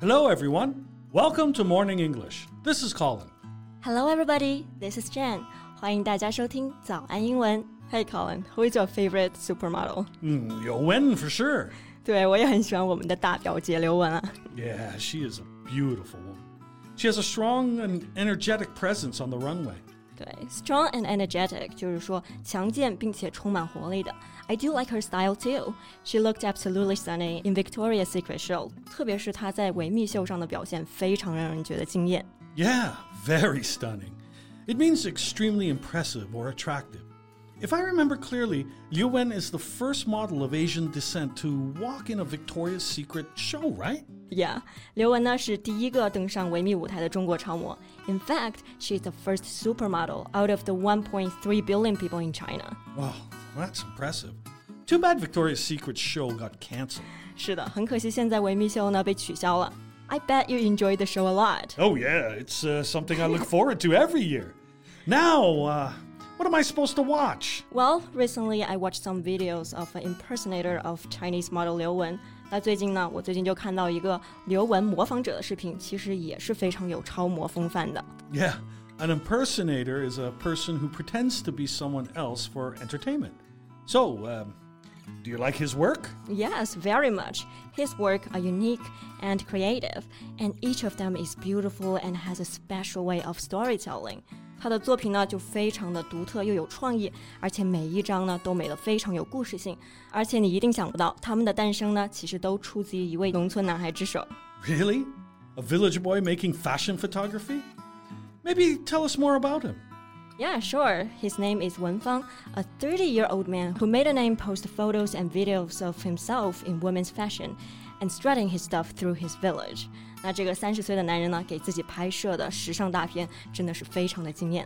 Hello, everyone. Welcome to Morning English. This is Colin. Hello, everybody. This is Jen. 欢迎大家收听早安英文。Hey, Colin, who is your favorite supermodel? Liu Wen, for sure. 对，我也很喜欢我们的大表姐刘雯啊。 Yeah, she is a beautiful woman. She has a strong and energetic presence on the runway. 对 ，strong and energetic 就是说强健并且充满活力的。I do like her style too. She looked absolutely stunning in Victoria's Secret show. 特别是她在维密秀上的表现，非常让人觉得惊艳。 Yeah, very stunning. It means extremely impressive or attractive. If I remember clearly, Liu Wen is the first model of Asian descent to walk in a Victoria's Secret show, right? Yeah, 刘雯呢是第一个登上维密舞台的中国超模。In fact, she's the first supermodel out of the 1.3 billion people in China. Wow, that's impressive. Too bad Victoria's Secret show got canceled. 是的，很可惜现在维密秀呢被取消了。I bet you enjoyed the show a lot. Oh yeah, it's something I look forward to every year. Now, what am I supposed to watch? Well, recently I watched some videos of an impersonator of Chinese model 刘雯。那最近呢，我就看到一个刘雯模仿者的视频，其实也是非常有超模风范的。 Yeah, an impersonator is a person who pretends to be someone else for entertainment. So, do you like his work? Yes, very much. His work are unique and creative, and each of them is beautiful and has a special way of storytelling. 他的作品呢就非常的独特又有创意，而且每一张呢都美得非常有故事性，而且你一定想不到，他们的诞生呢其实都出自于一位农村男孩之手。 Really? A village boy making fashion photography? Maybe tell us more about him. Yeah, sure. His name is Wen Fang, a 30-year-old man who made a name post photos and videos of himself in women's fashion and strutting his stuff through his village. 那这个30岁的男人呢，给自己拍摄的时尚大片真的是非常的惊艳。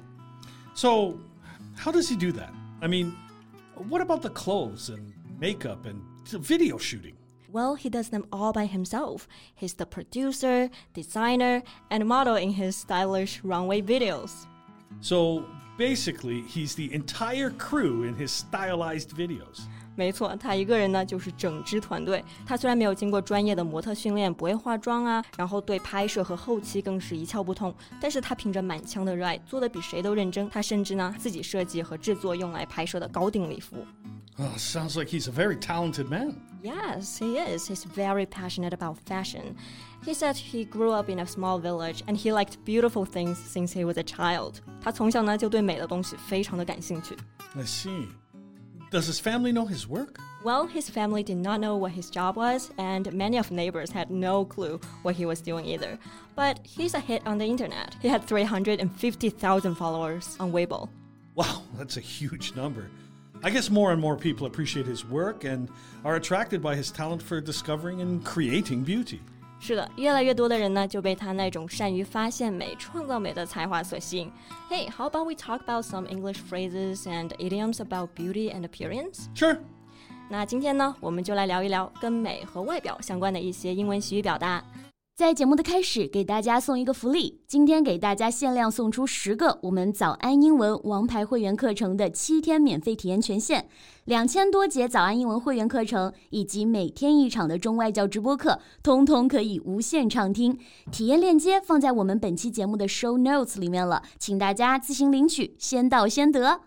So, how does he do that? I mean, what about the clothes and makeup and video shooting? Well, he does them all by himself. He's the producer, designer, and model in his stylish runway videos. So, basically, he's the entire crew in his stylized videos. 没错，他一个人呢就是整支团队。他虽然没有经过专业的模特训练，不会化妆啊，然后对拍摄和后期更是一窍不通，但是他凭着满腔的热爱，做得比谁都认真。他甚至呢自己设计和制作用来拍摄的高定礼服。 Oh, sounds like he's a very talented man. Yes, he is. He's very passionate about fashion. He said he grew up in a small village and he liked beautiful things since he was a child. 他从小呢就对美的东西非常的感兴趣。 I see. Does his family know his work? Well, his family did not know what his job was, and many of neighbors had no clue what he was doing either. But he's a hit on the internet. He had 350,000 followers on Weibo. Wow, that's a huge number. I guess more and more people appreciate his work and are attracted by his talent for discovering and creating beauty. 是的，越来越多的人呢就被他那种善于发现美、创造美的才华所吸引。Hey, how about we talk about some English phrases and idioms about beauty and appearance? Sure. 那今天呢，我们就来聊一聊跟美和外表相关的一些英文习语表达。 在节目的开始，给大家送一个福利，今天给大家限量送出10个我们早安英文王牌会员课程的7天免费体验权限，2000多节早安英文会员课程以及每天1场的中外教直播课，通通可以无限畅听。体验链接放在我们本期节目的 show notes 里面了，请大家自行领取，先到先得。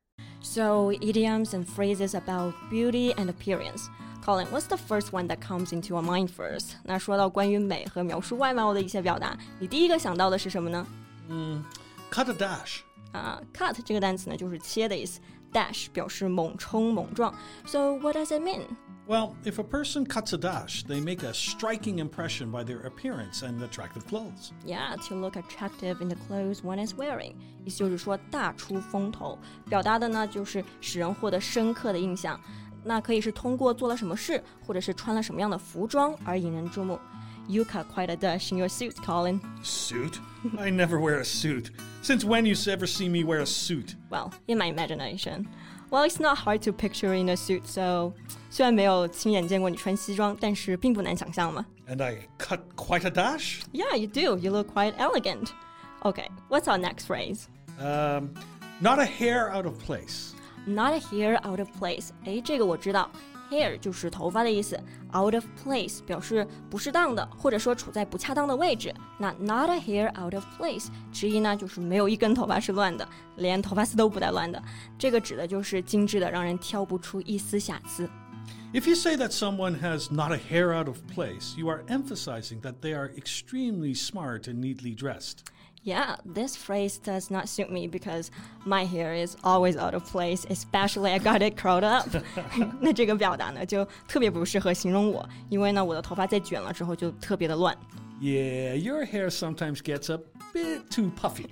So, idioms and phrases about beauty and appearance.Colin, what's the first one that comes into your mind first? 那说到关于美和描述外貌的一些表达，你第一个想到的是什么呢 Cut a dash. Cut 这个单词呢就是切的意思 ，dash 表示猛冲猛撞。So what does it mean? Well, if a person cuts a dash, they make a striking impression by their appearance and attractive clothes. Yeah, to look attractive in the clothes one is wearing. 意思就是说大出风头，表达的呢就是使人获得深刻的印象。那可以是通过做了什么事，或者是穿了什么样的服装而引人注目。You cut quite a dash in your suit, Colin. Suit? I never wear a suit. Since when you ever see me wear a suit? Well, in my imagination. Well, it's not hard to picture in a suit, so 虽然没有亲眼见过你穿西装，但是并不难想象嘛。 And I cut quite a dash? Yeah, you do. You look quite elegant. Okay, what's our next phrase? Not a hair out of place. not a hair out of place， 这个我知道。Hair 就是头发的意思 ，out of place 表示不适当的，或者说处在不恰当的位置。那 not a hair out of place 直译呢就是没有一根头发是乱的，连头发丝都不带乱的。这个指的就是精致的，让人挑不出一丝瑕疵。 If you say that someone has not a hair out of place, you are emphasizing that they are extremely smart and neatly dressed.Yeah, this phrase does not suit me because my hair is always out of place, especially I got it curled up. 那这个表达呢，就特别不适合形容我，因为呢，我的头发在卷了之后就特别的乱。 Yeah, your hair sometimes gets a bit too puffy.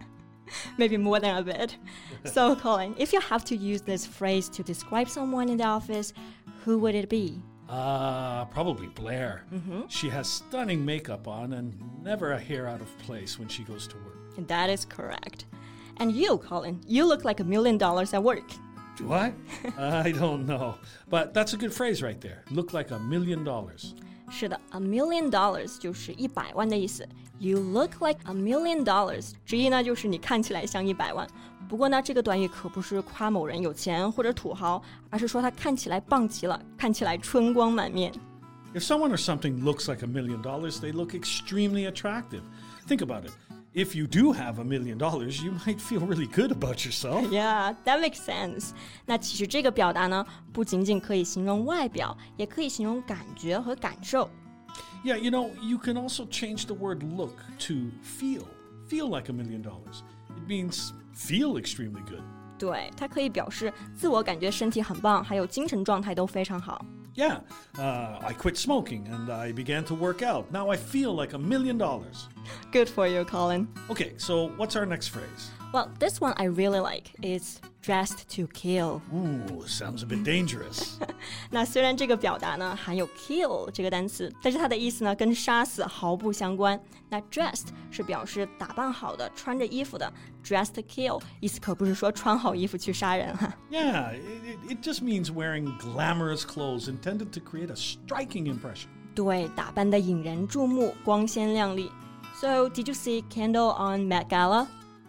Maybe more than a bit. So, Colin, if you have to use this phrase to describe someone in the office, who would it be?Probably Blair. She has stunning makeup on and never a hair out of place when she goes to work. That is correct. And you, Colin, you look like $1 million at work. Do I? I don't know. But that's a good phrase right there. Look like $1 million. 是的 $1 million 就是100万的意思。You look like $1 million 直译呢就是你看起来像100万。不过呢，这个短语可不是夸某人有钱或者土豪，而是说他看起来棒极了，看起来春光满面。 If someone or something looks like $1 million, they look extremely attractive. Think about it. If you do have $1 million, you might feel really good about yourself. Yeah, that makes sense. 那其实这个表达呢，不仅仅可以形容外表，也可以形容感觉和感受。 Yeah, you can also change the word look to feel. Feel like $1 million. It means feel extremely good. 对，它可以表示自我感觉身体很棒，还有精神状态都非常好。 Yeah, I quit smoking and I began to work out. Now I feel like $1 million. Good for you, Colin. Okay, so what's our next phrase? Well, this one I really like. It's dressed to kill. Ooh, sounds a bit dangerous. 那虽然这个表达呢含有 kill 这个单词，但是它的意思呢跟杀死毫不相关。那 dressed 是表示打扮好的，穿着衣服的。Dressed to kill 意思可不是说穿好衣服去杀人哈。 Yeah, it just means wearing glamorous clothes intended to create a striking impression. 对，打扮的引人注目，光鲜亮丽。So, did you see Kendall on Met Gala?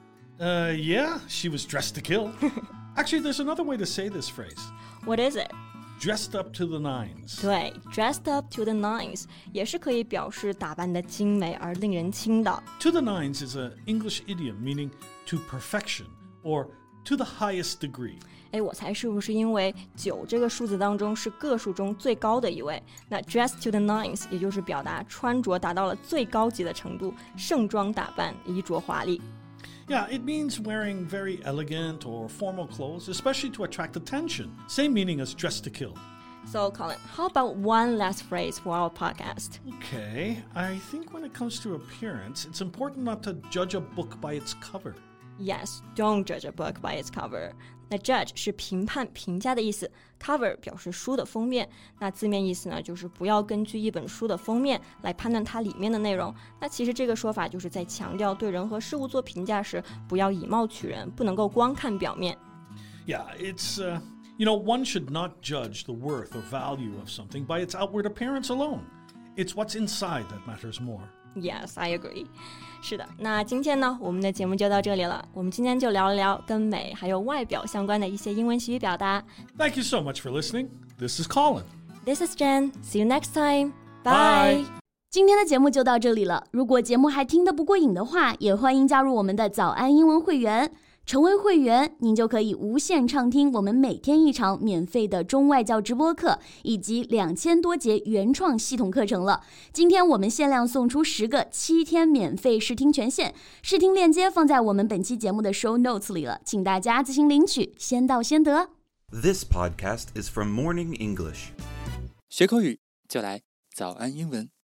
Yeah, she was dressed to kill. Actually, there's another way to say this phrase. What is it? Dressed up to the nines. 对 dressed up to the nines 也是可以表示打扮的精美而令人倾倒。 To the nines is an English idiom meaning to perfection or to the highest degree. 我猜是不是因为9这个数字当中是个数中最高的一位？那 dressed to the nines 也就是表达穿着达到了最高级的程度，盛装打扮，衣着华丽。 Yeah, it means wearing very elegant or formal clothes, especially to attract attention. Same meaning as dressed to kill. So, Colin, how about one last phrase for our podcast? Okay, I think when it comes to appearance, it's important not to judge a book by its cover. Yes, don't judge a book by its cover. 那 judge 是评判、评价的意思 ，cover 表示书的封面。那字面意思呢，就是不要根据一本书的封面来判断它里面的内容。那其实这个说法就是在强调对人和事物做评价时，不要以貌取人，不能够光看表面。 Yeah, it's, one should not judge the worth or value of something by its outward appearance alone. It's what's inside that matters more. Yes, I agree. 是的，那今天呢，我们的节目就到这里了。我们今天就聊一聊跟美还有外表相关的一些英文习语表达。 Thank you so much for listening. This is Colin. This is Jen. See you next time. Bye. 今天的节目就到这里了。如果节目还听得不过瘾的话，也欢迎加入我们的早安英文会员。成为会员，您就可以无限畅听我们每天一场免费的中外教直播课，以及2000多节原创系统课程了。今天我们限量送出10个7天免费试听权限，试听链接放在我们本期节目的 show notes 里了，请大家自行领取，先到先得。 This podcast is from Morning English. 学口语就来早安英文。